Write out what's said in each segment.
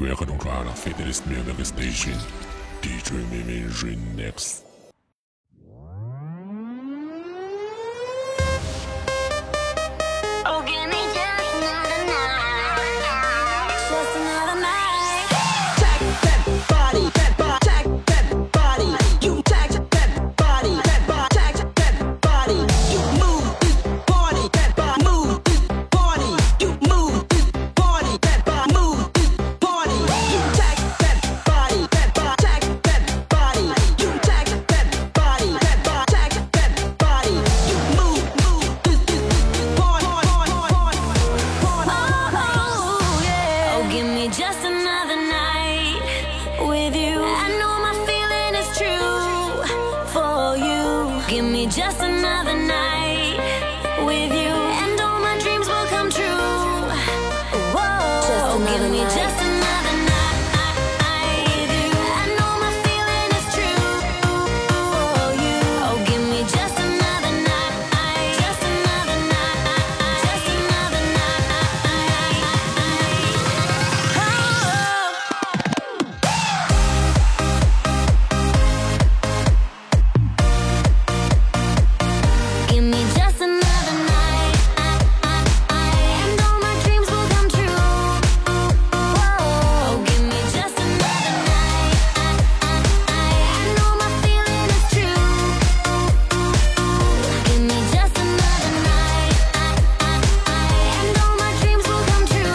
Welcome to our Fidelist Music Station. DJ Mimi Remix. Oh, give me just another night. Just another night. Tag that body, tag that body. You tag that body, tag that body. You move this body, move this body. You move this body, move this body. You tag that body, tag that body. You tag that body, tag that body. You move this body. Oh, yeah. Oh, give me just another night with you. I know my feeling is true for you. Give me just another night with you, and all my dreams will come true. Whoa, give me just another night with you. I know my feeling is true for you. Oh, give me just another night, just another night, just another night. Give me just another night, and all my dreams will come true. Oh, give me just another night, and all my feeling is true. Give me just another night, and all my dreams will come true.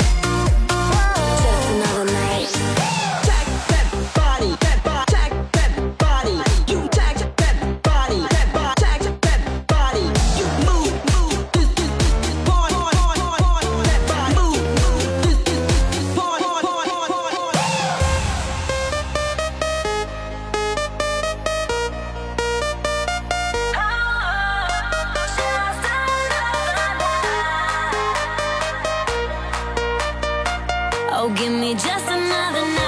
Just another night. Tag that body, tag that body. You tag that body, tag that body. You move this body, that body. Move this body. Oh, give me just another night.